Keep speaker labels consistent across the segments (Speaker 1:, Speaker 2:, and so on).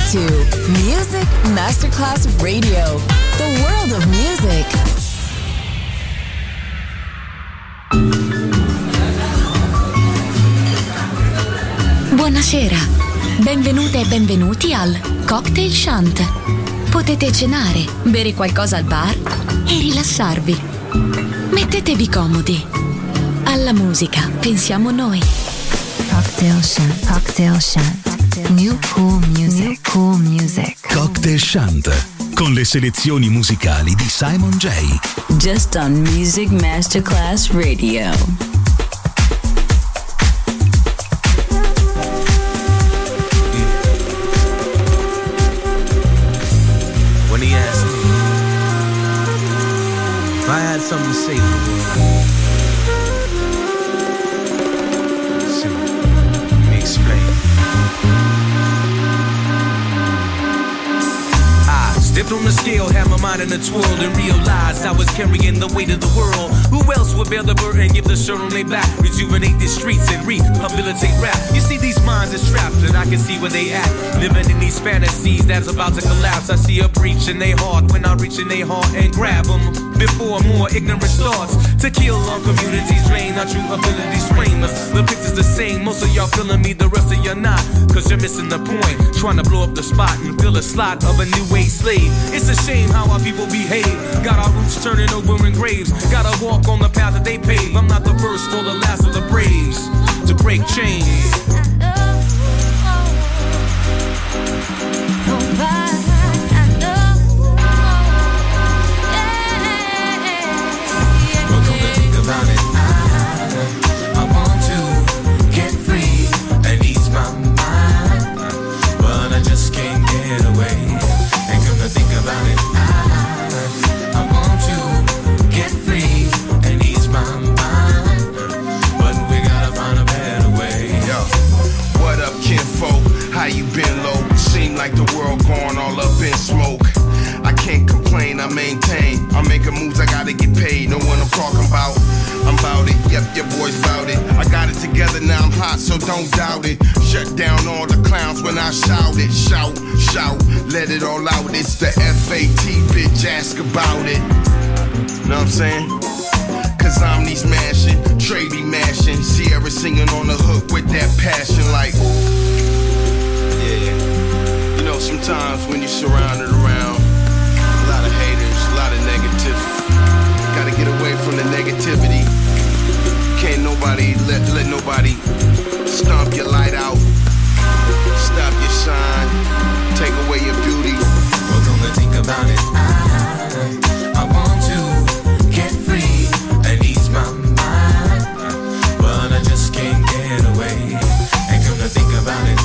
Speaker 1: to Music Masterclass Radio, the world of music.
Speaker 2: Buonasera, benvenute e benvenuti al Cocktail Shant. Potete cenare, bere qualcosa al bar e rilassarvi. Mettetevi comodi. Alla musica pensiamo noi.
Speaker 3: Cocktail Shant, Cocktail Shant. New cool music, new cool music.
Speaker 4: Cocktail Shant, con le selezioni musicali di Simon J.
Speaker 5: Just on Music Masterclass Radio.
Speaker 6: When he asked me if I had something to say to the world, see, let me explain. Stepped on the scale, had my mind in a twirl, and realized I was carrying the weight of the world. Who else would bear the burden, give the shirt on their back, rejuvenate the streets and rehabilitate rap? You see, these minds is trapped, and I can see where they at, living in these fantasies that's about to collapse. I see a breach in their heart when I reach in their heart and grab them before more ignorance starts to kill our communities, drain our true abilities, frame us. The picture's the same, most of y'all feeling me, the rest of y'all not, cause you're missing the point, trying to blow up the spot and fill a slot of a new age slave. It's a shame how our people behave. Got our roots turning over in graves. Gotta walk on the path that they pave. I'm not the first or the last of the braves to break chains. But come to think about it, I want to get free and ease my mind, but I just can't get away. And come to think about it, I want to get free and ease my mind, but we gotta find a better way.
Speaker 7: Yo, what up, kinfolk? How you been, low? Seem like the world gone all up in smoke. I can't complain, I maintain. I'm making moves, I gotta get paid. Know what I'm talking about? I'm bout it, yep, your boy's bout it. I got it together, now I'm hot, so don't doubt it. Shut down all the clowns when I shout it. Shout, shout, let it all out. It's the FAT, bitch, ask about it. Know what I'm saying? Cause I'm these mashing, Trey be mashing. Sierra singing on the hook with that passion like, yeah. You know, sometimes when you're surrounded around a lot of haters, a lot of negative, gotta get away from the negativity. Can't nobody let nobody stomp your light out, stop your shine, take away your beauty.
Speaker 6: Well, come to think about it, I want to get free and ease my mind, but I just can't get away. And come to think about it,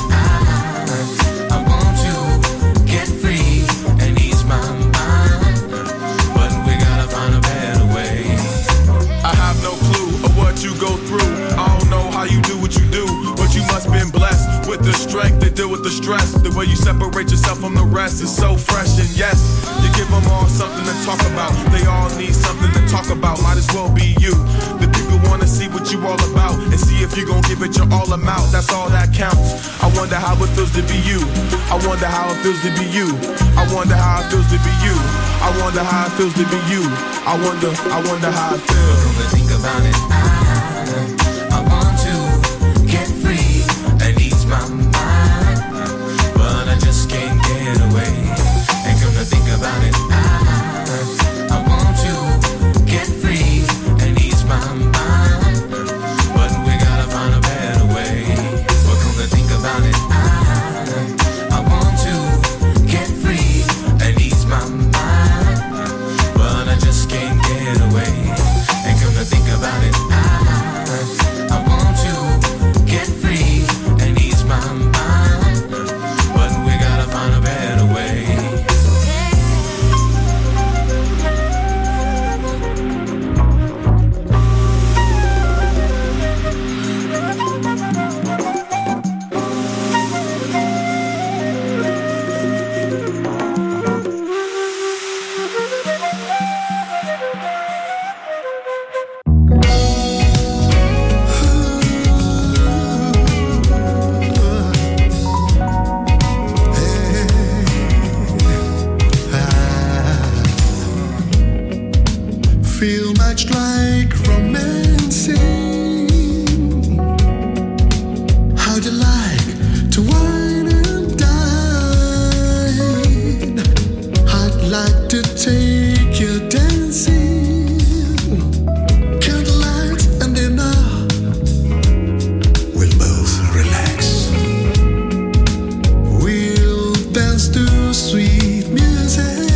Speaker 6: I want to get free and ease my mind, but we gotta find a better way.
Speaker 8: I have no clue of what you go through. I don't know how you do what you do, but you must been blessed with the strength to deal with the stress. The way you separate yourself from the rest is so fresh, and yes, you give them all something to talk about. They all need something to talk about, might as well be you. The people wanna see what you all about and see if you gon' give it your all amount. That's all that counts. I wonder how it feels to be you. I wonder how it feels to be you. I wonder how it feels to be you. I wonder how it feels to be you. I wonder how it feels.
Speaker 6: Come to think about it, I want to get free and ease my mind, but I just can't get away. And come to think about it, I want to get free and ease my mind, but we gotta find a better way. But come to think about it, I want to get free and ease my mind, but I just can't get away. And come to think about it,
Speaker 9: much like romancing. How'd you like to wine and dine? I'd like to take you dancing. Candlelight and dinner. We'll both relax. We'll dance to sweet music.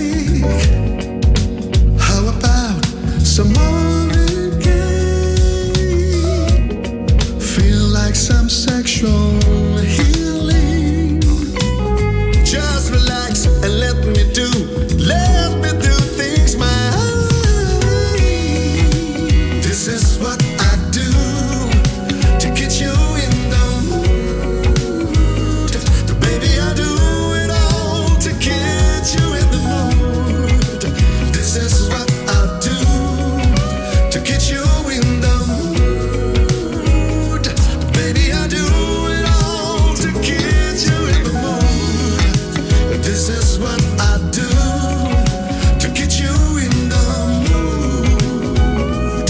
Speaker 9: How about some Marvin Gaye? Feel like some sexual healing. Just relax and let me do things my way. This is what I do to get you in the mood. Baby, I do it all to get you in the mood. This is what I do to get you in the mood. Baby, I do it all to get you in the mood. This is what I do to get you in the mood.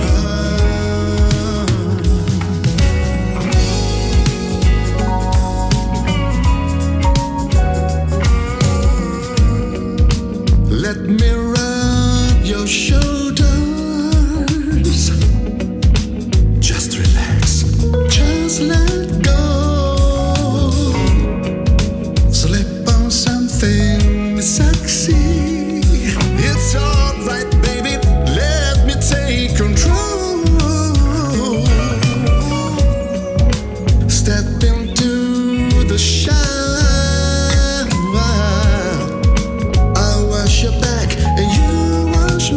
Speaker 9: Let me rub your shoulders. Just relax, just let go. Slip on something sexy. It's alright, baby. Let me take control. Step into the shower. I'll wash your back and you wash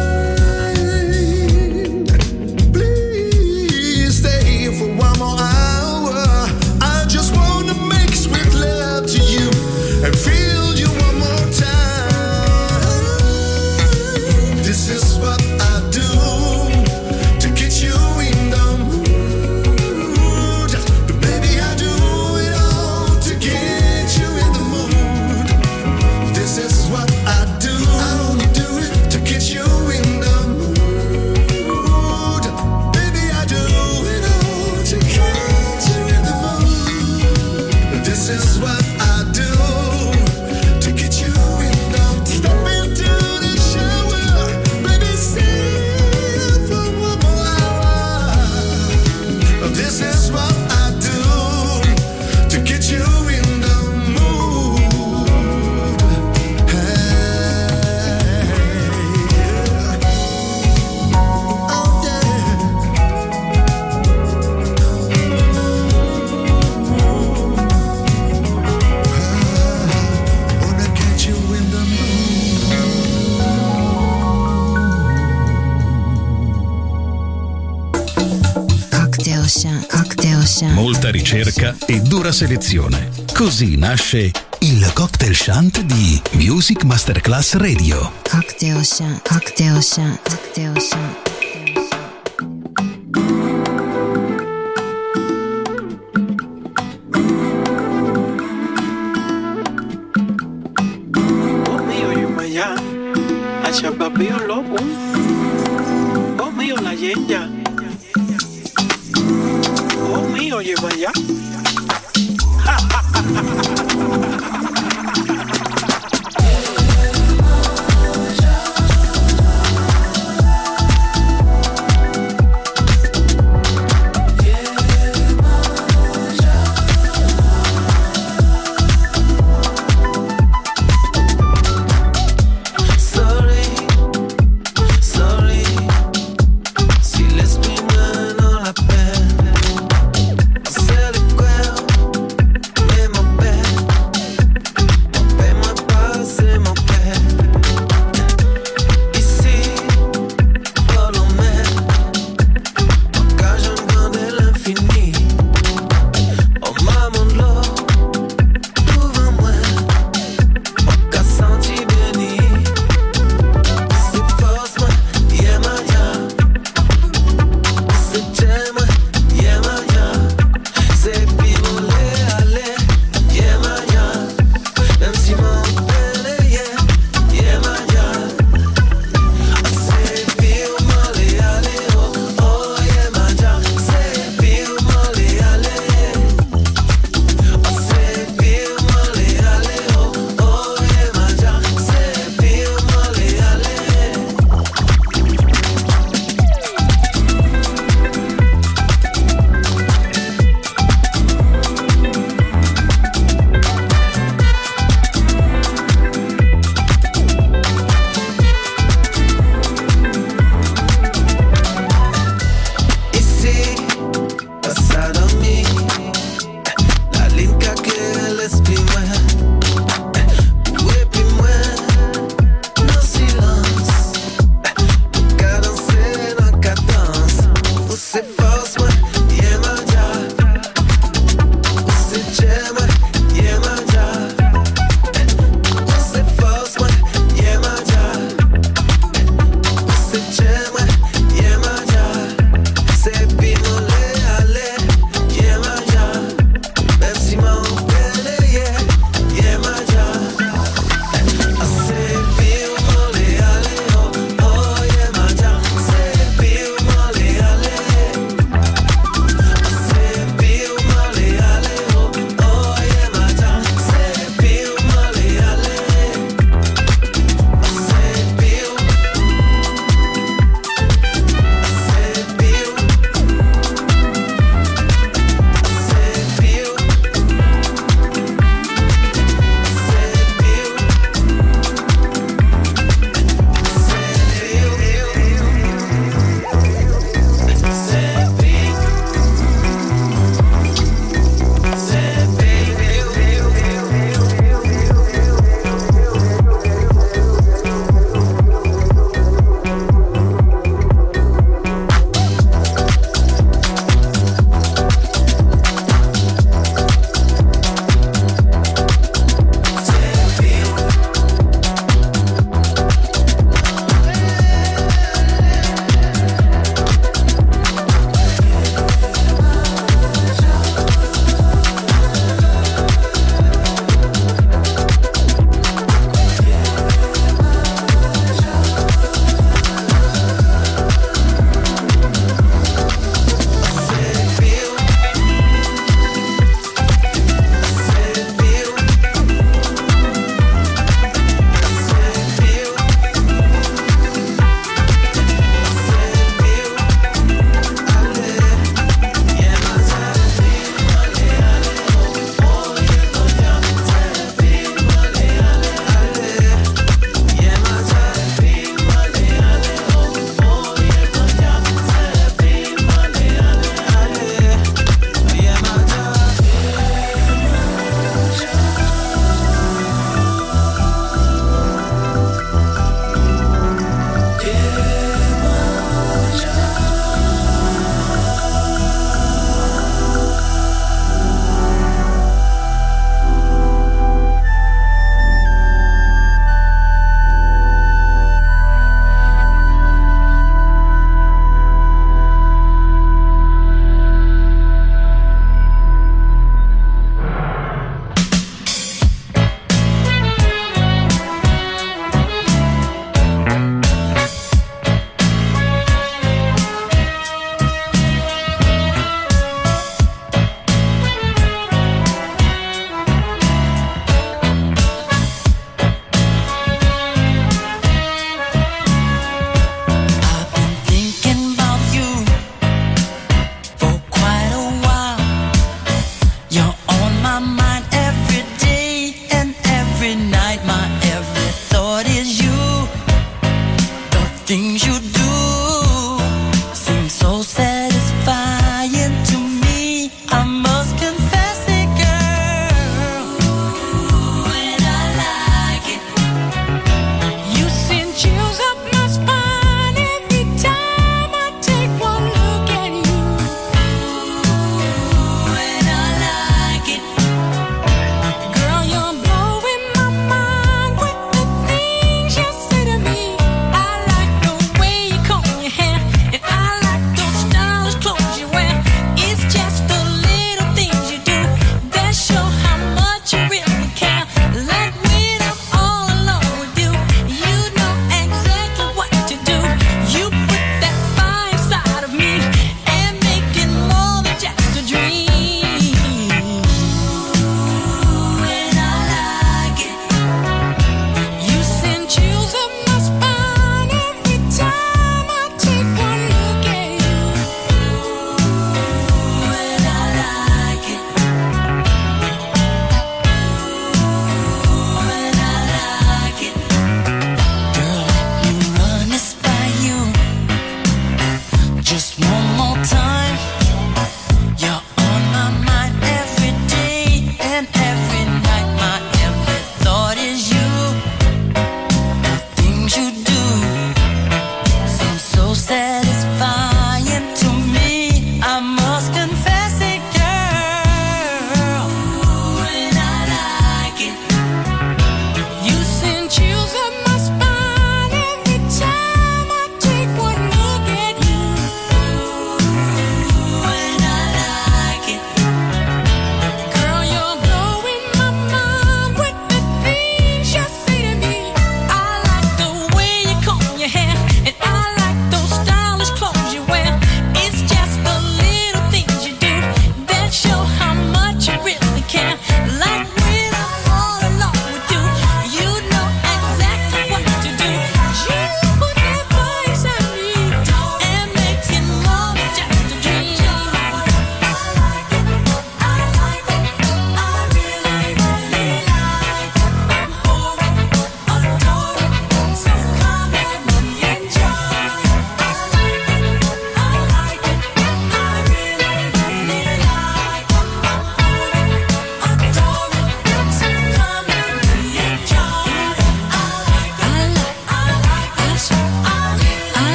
Speaker 9: mine. Please stay for one more hour. I just wanna make sweet love to you and feel you one more time. This is what I do to get you in the mood. Baby, I do it all to get you in the mood. This is what I do. I only do it to get you in the mood. Baby, I do it all to get you in the mood. This is what I do to get you in the mood. Step into the shower, baby, stay for one more hour. This is what I do to get you in the mood. Hey, oh yeah. Wanna get you in the
Speaker 3: Cocktail Chant, Cocktail Chant.
Speaker 4: Molta ricerca e dura selezione. Così nasce il Cocktail Chant di Music Masterclass Radio.
Speaker 3: Cocktail Chant, Cocktail Chant, Cocktail Chant.
Speaker 10: Oh mío, yo maya, hacia papi yo loco. Oh mío, la yenya. Oh mío, lleva ya.
Speaker 11: Si l'espina no la perde, se le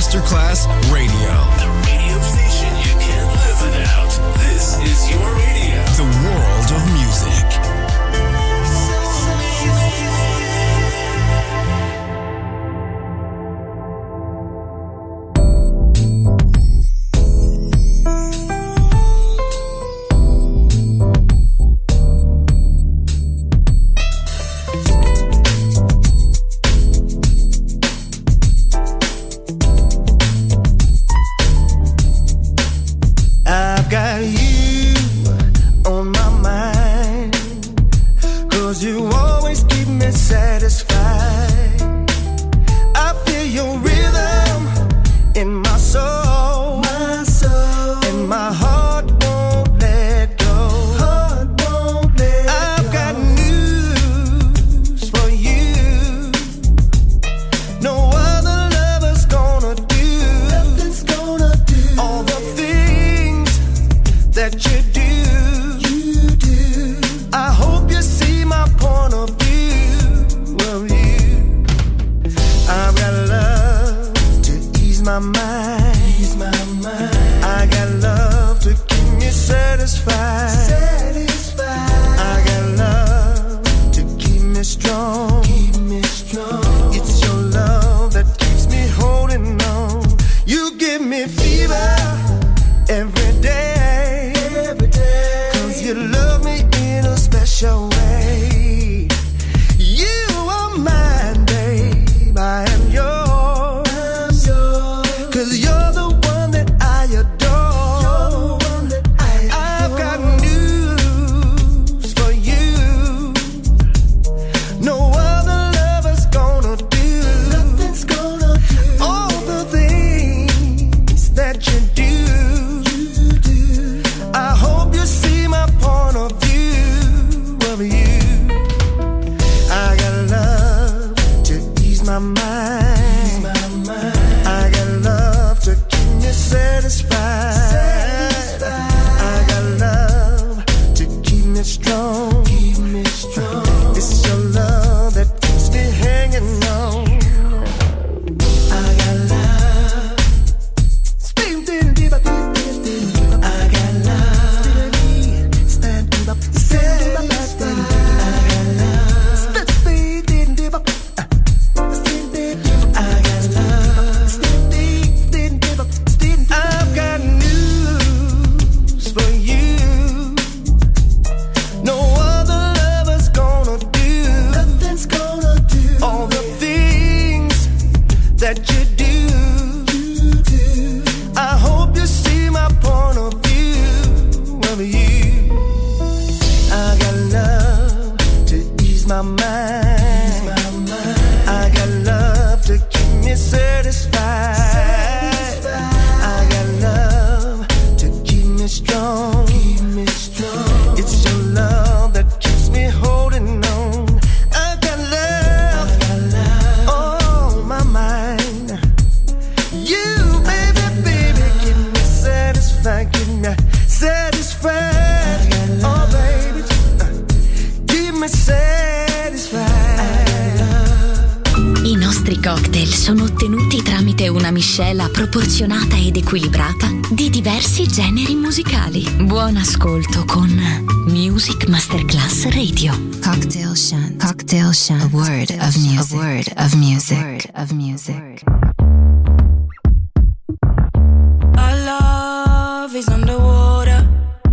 Speaker 11: Masterclass Radio.
Speaker 12: The radio station you can't live without. This is your radio.
Speaker 11: The world of music.
Speaker 2: Sono ottenuti tramite una miscela proporzionata ed equilibrata di diversi generi musicali. Buon ascolto con Music Masterclass Radio.
Speaker 3: Cocktail Shant. Cocktail Shant. A word of music. A word of music. A word of music.
Speaker 13: Our love is underwater.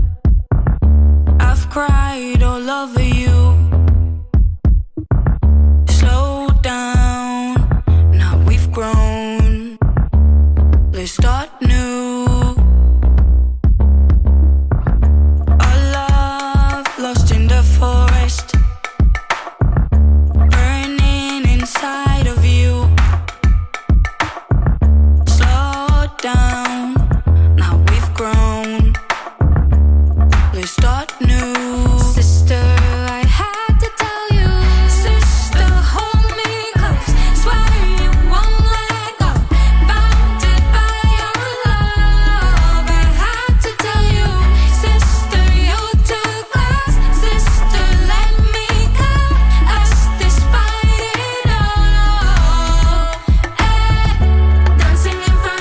Speaker 13: I've cried all over you. Slow down. Grown. Let's start new. Our love lost in the forest, burning inside of you. Slow down. Now we've grown. Let's start new. Sister, I had to tell you. Sister, hold me close. Swear you won't. Dancing in front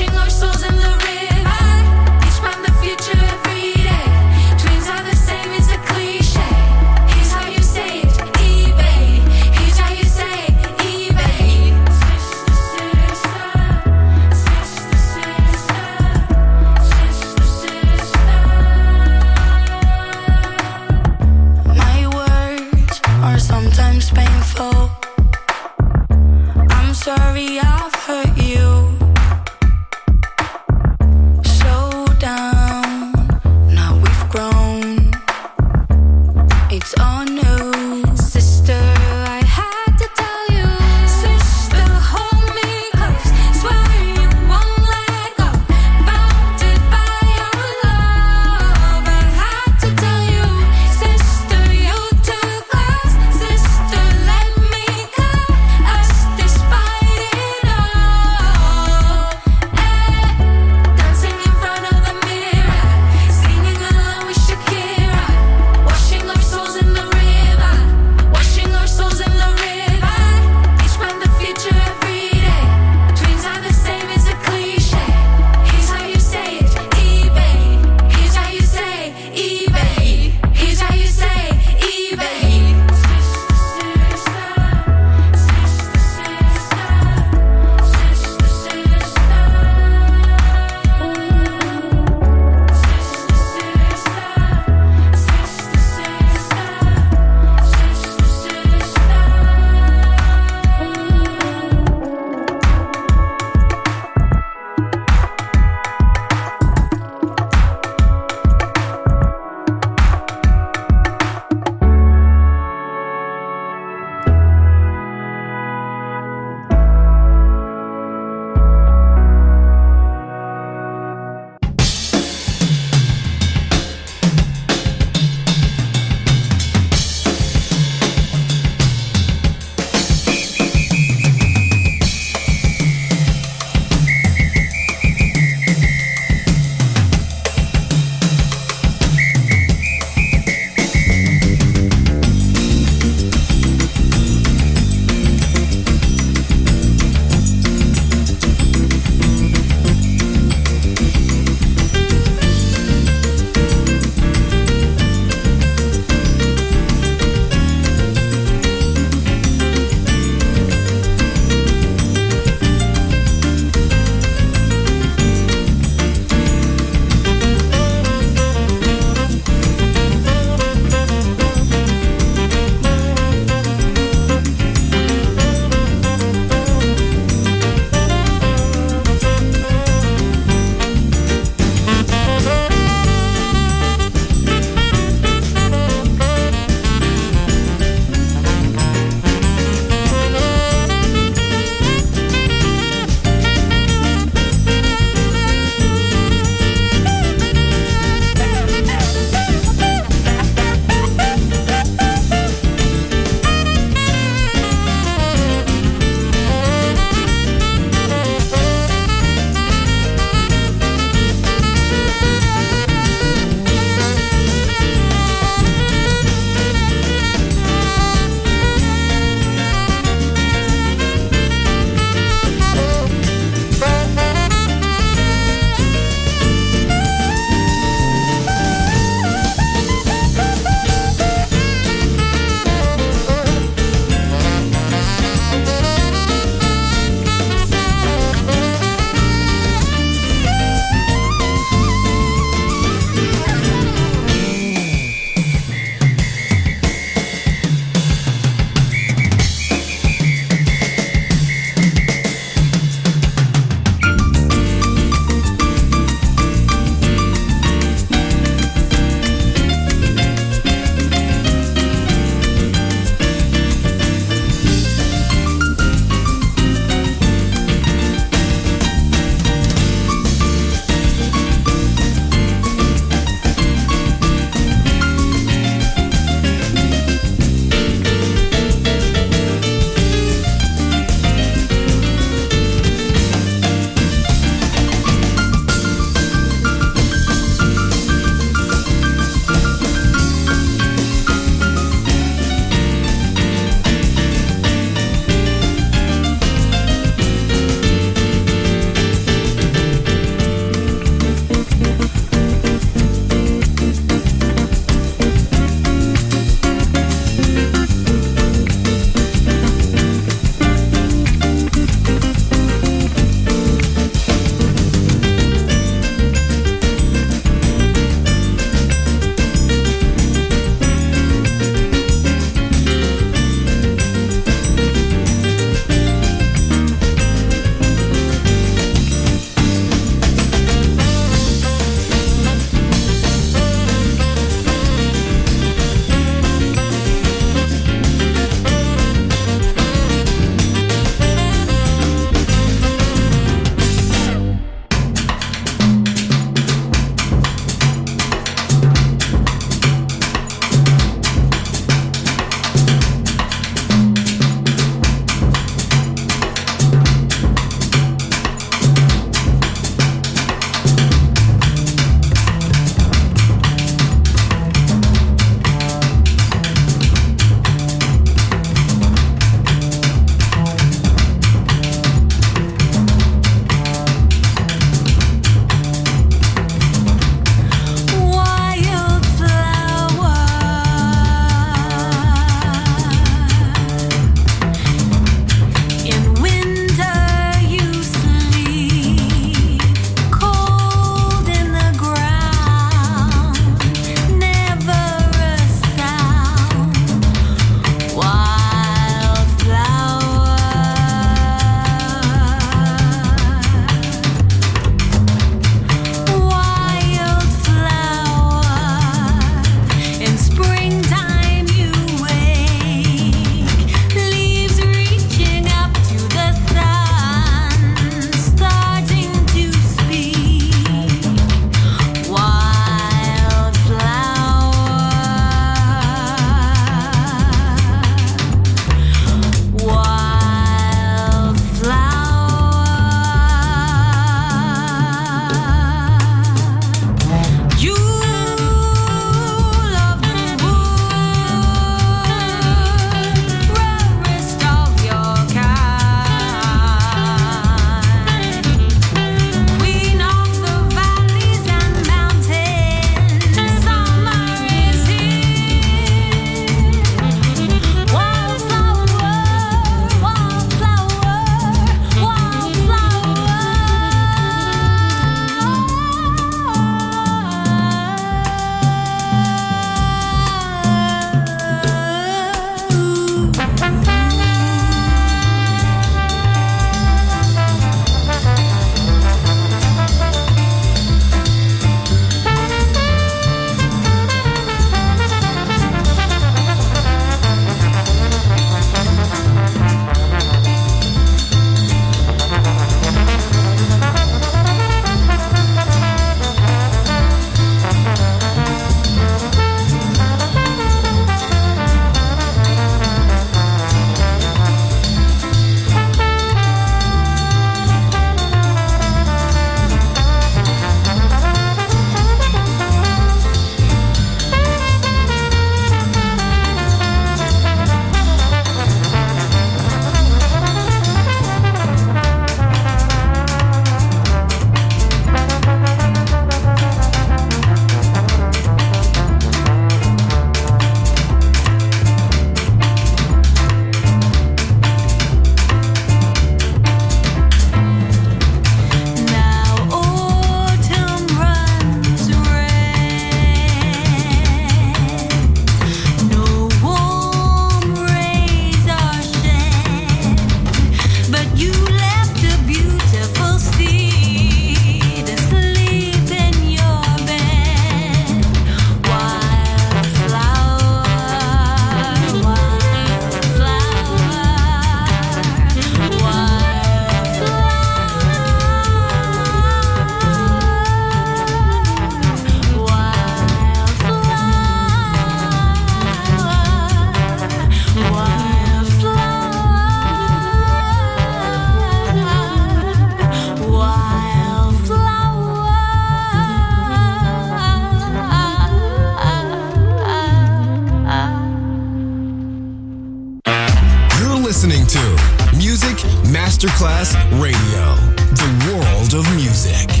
Speaker 11: Masterclass Radio, the world of music.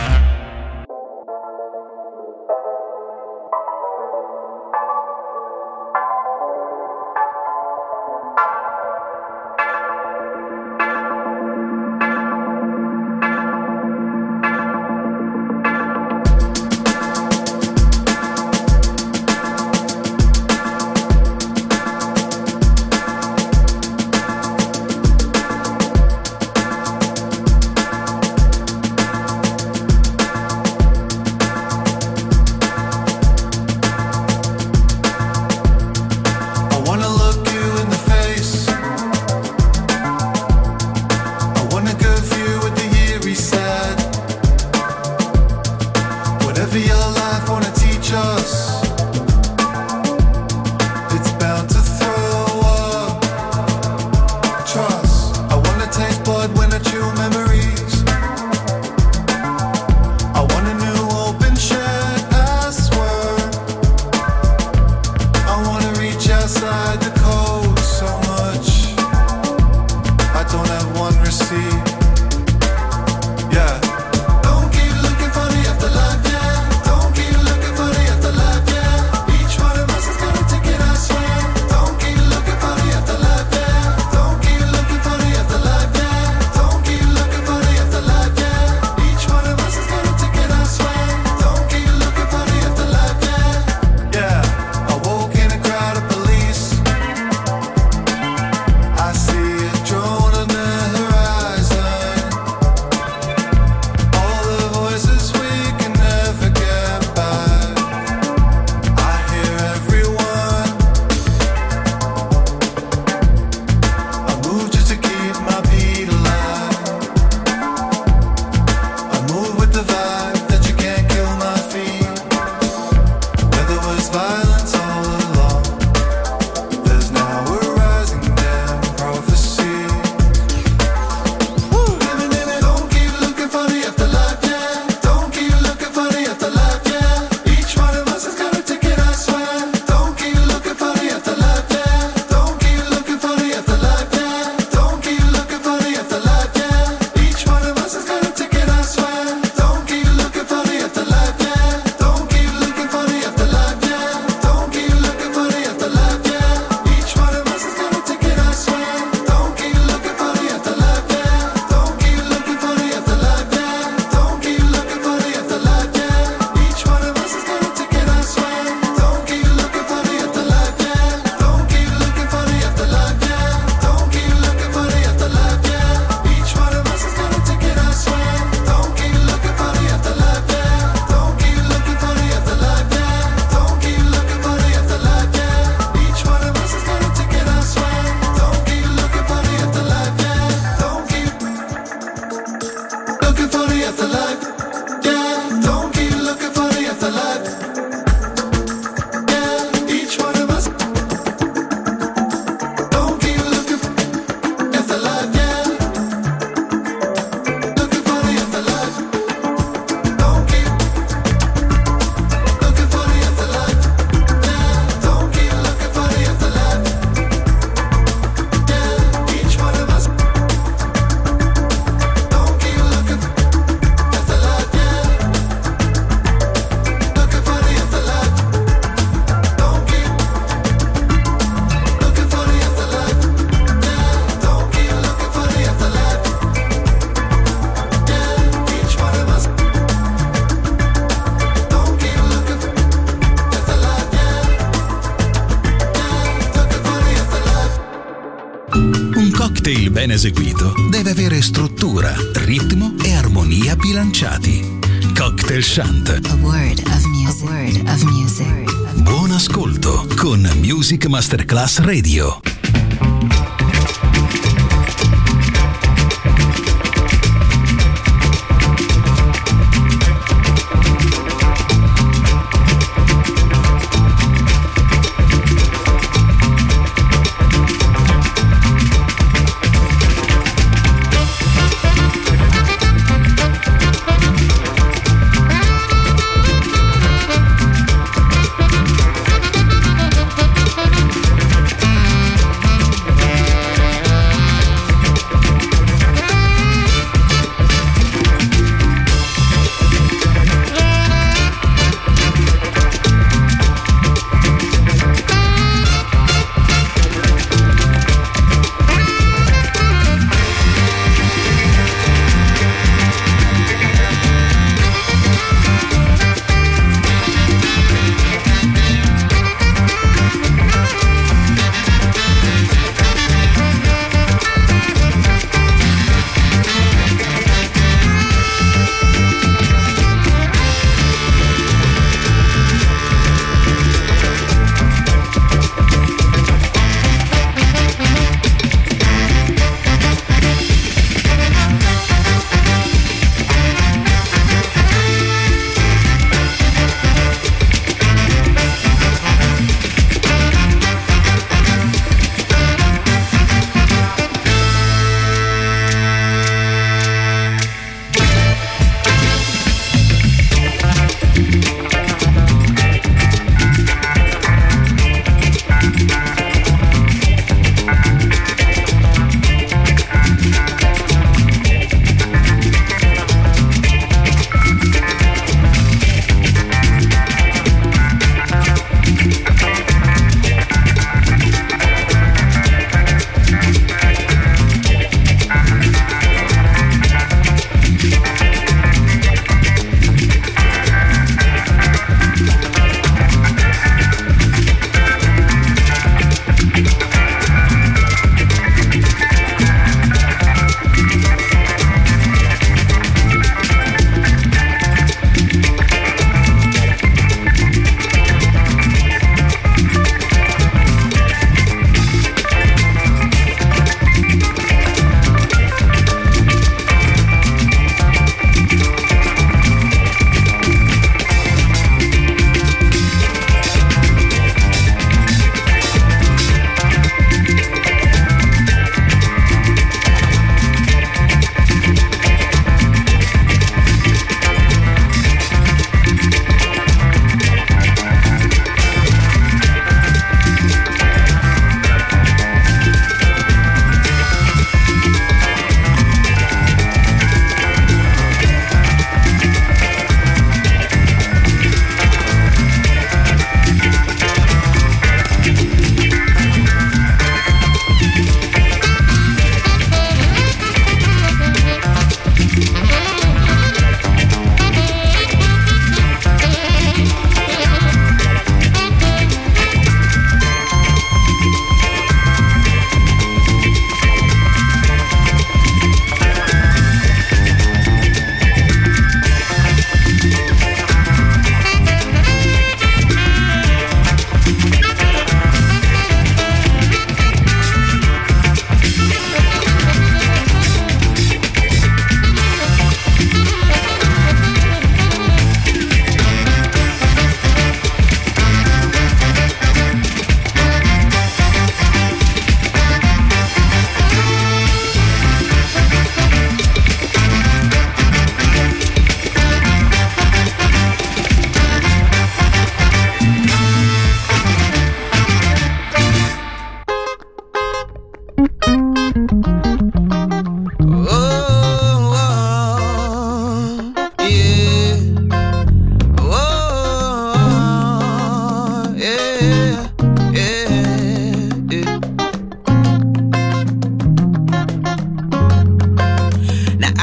Speaker 4: cocktail ben eseguito deve avere struttura, ritmo e armonia bilanciati. Cocktail Shant.
Speaker 3: A word of music. A word of music.
Speaker 4: Buon ascolto con Music Masterclass Radio.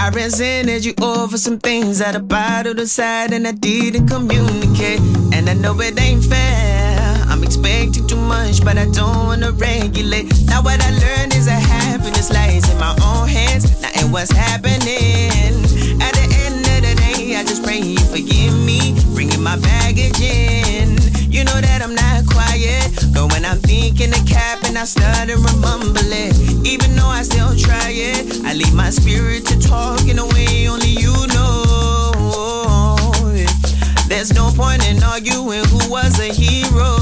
Speaker 14: I resented you over some things that I bottled aside and I didn't communicate. And I know it ain't fair, I'm expecting too much, but I don't wanna regulate. Now what I learned is that happiness lies in my own hands, not in what's happening. At the end of the day, I just pray you forgive me, bringing my baggage in. You know that I'm not quiet, but when I'm thinking the cap and I start to rumble it, even though I still try it, I leave my spirit to talk in a way only you know. There's no point in arguing who was a hero.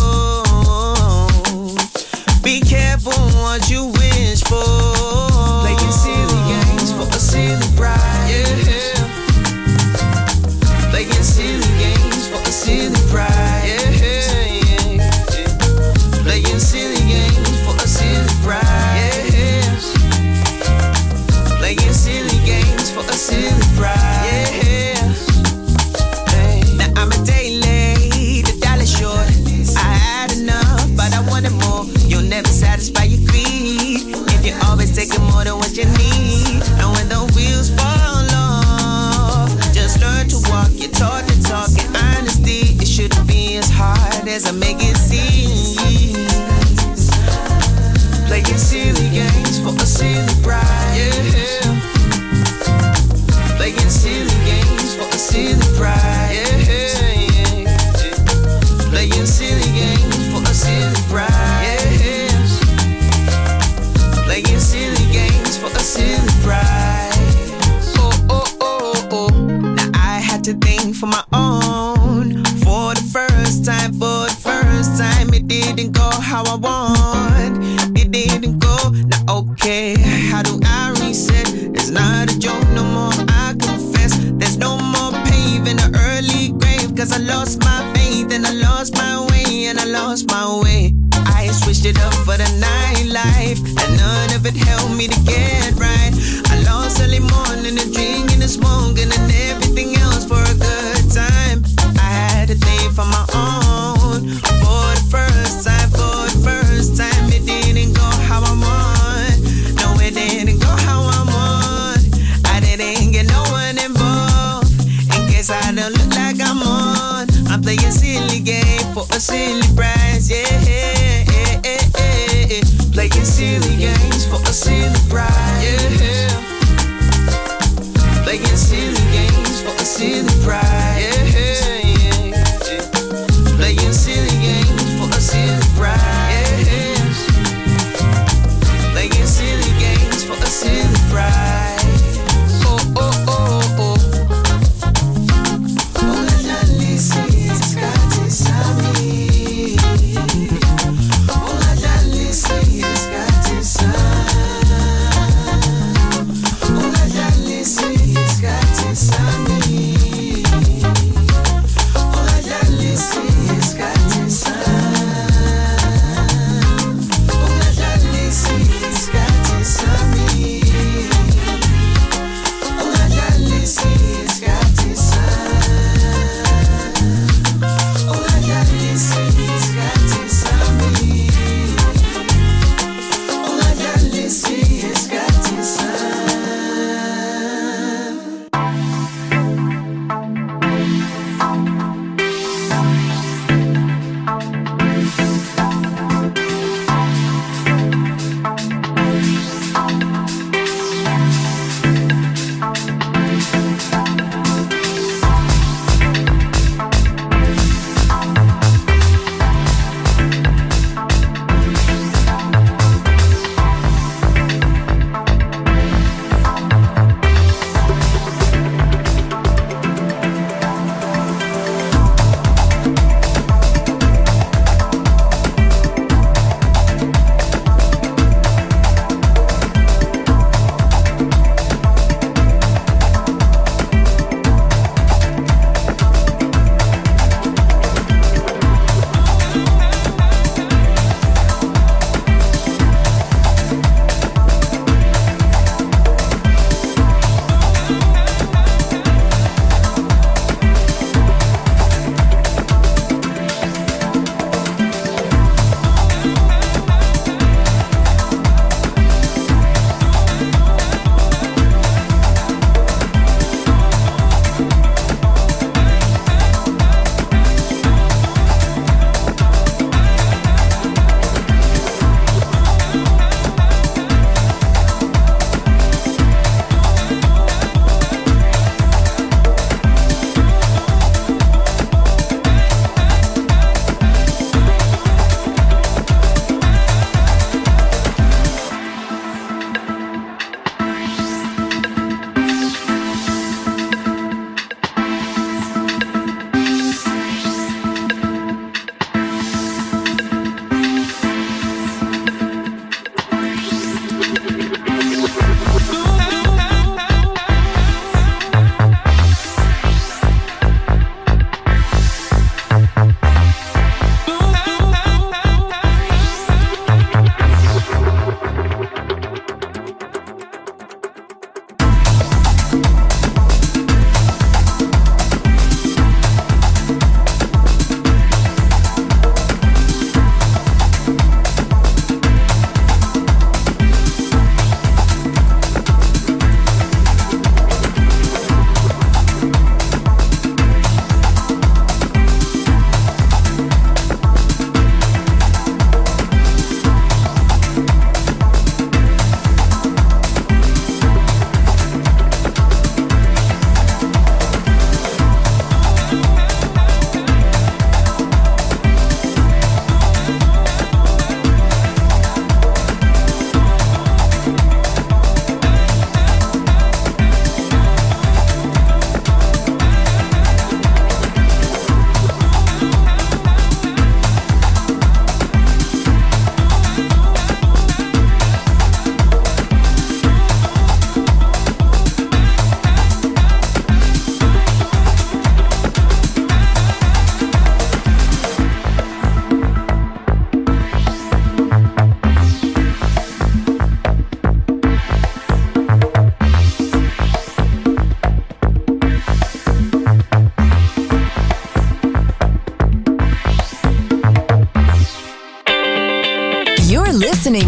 Speaker 14: Be careful what you wish for. Playing silly games for a silly pride. Yeah. Playing silly games for a silly pride. Yeah. Playing silly games for a silly pride. Yes. Playing silly games for a silly pride. Yes. Hey. Now I'm a day late, a dollar short. I had enough, but I wanted more. You'll never satisfy your greed if you're always taking more than what you need. And when the wheels fall off, just learn to walk. You're taught to talk in honesty. It shouldn't be as hard as I make it seem. Playing silly games for a silly pride. Yeah. Playing silly games for a silly pride. Yeah. Playing silly games for a silly pride. Yeah. Playing silly games for a silly pride. Oh. Now I had to think for my own. For the first time, it didn't go how I want. It didn't go, now okay, how do I reset? It's not a joke no more, I confess. There's no more paving the early grave, cause I lost my faith and I lost my way, and I lost my way. I switched it up for the nightlife, and none of it helped me to get right. I lost early morning, the drinking, the smoking, and everything else for a good time. I had to think for my own. For the first time, it didn't go how I want. No, it didn't go how I want. I didn't get no one involved. In case I don't look like I'm on, I'm playing silly game for a silly prize. Yeah. Playing silly games for a silly prize. Yeah. Playing silly games for a silly prize. Yeah. Playing silly games for a silly prize. Playing silly games for a silly prize. Oh. Oh, la Lisa, it's got inside me. Oh, la Lisa, it's got inside. Oh, la Lisa, it's got inside me.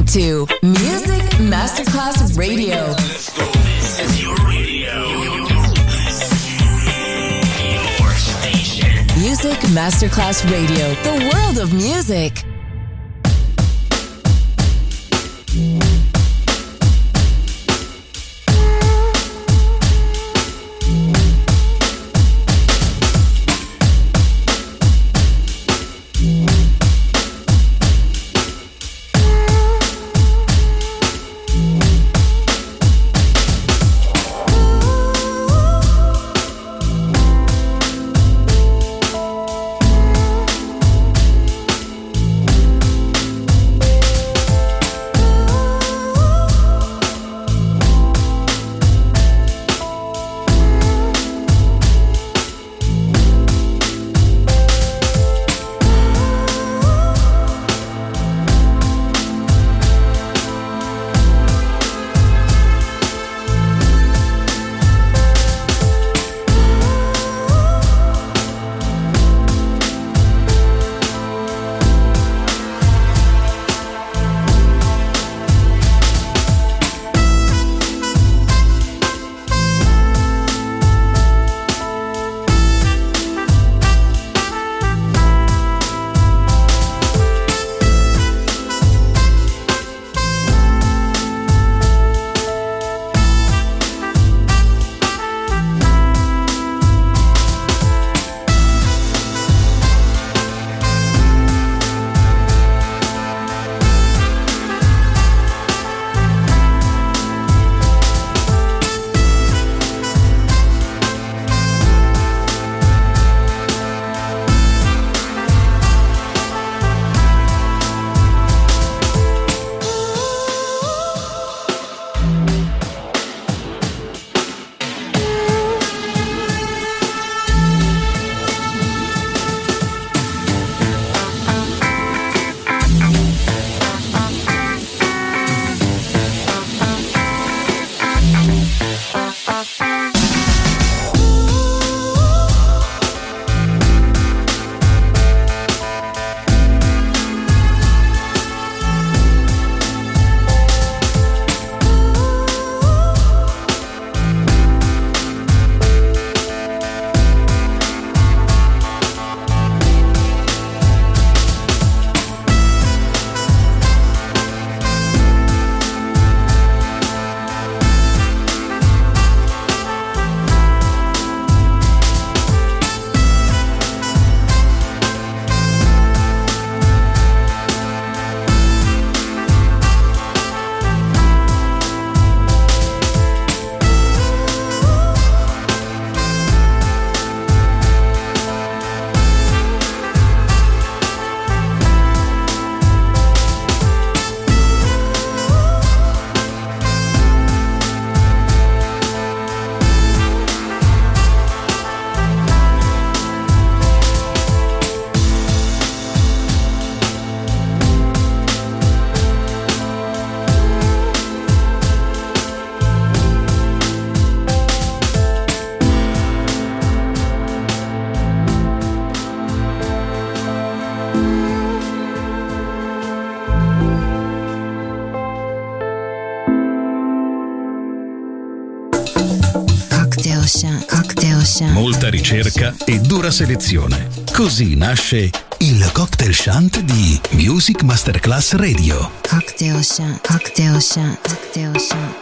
Speaker 1: to Music Masterclass Radio.
Speaker 12: Let's go. This is your radio. Your station.
Speaker 1: Music Masterclass Radio. The world of music.
Speaker 4: Molta ricerca e dura selezione. Così nasce il Cocktail Shant di Music Masterclass Radio.
Speaker 3: Cocktail Shant, Cocktail Shant, Cocktail Shant.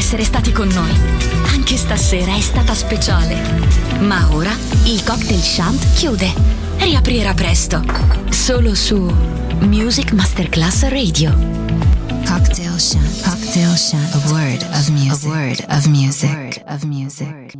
Speaker 2: essere stati con noi. Anche stasera è stata speciale. Ma ora il Cocktail Shant chiude. Riaprirà presto. Solo su Music Masterclass Radio.
Speaker 3: Cocktail Shant. Cocktail Shant. A word of music. A word of music.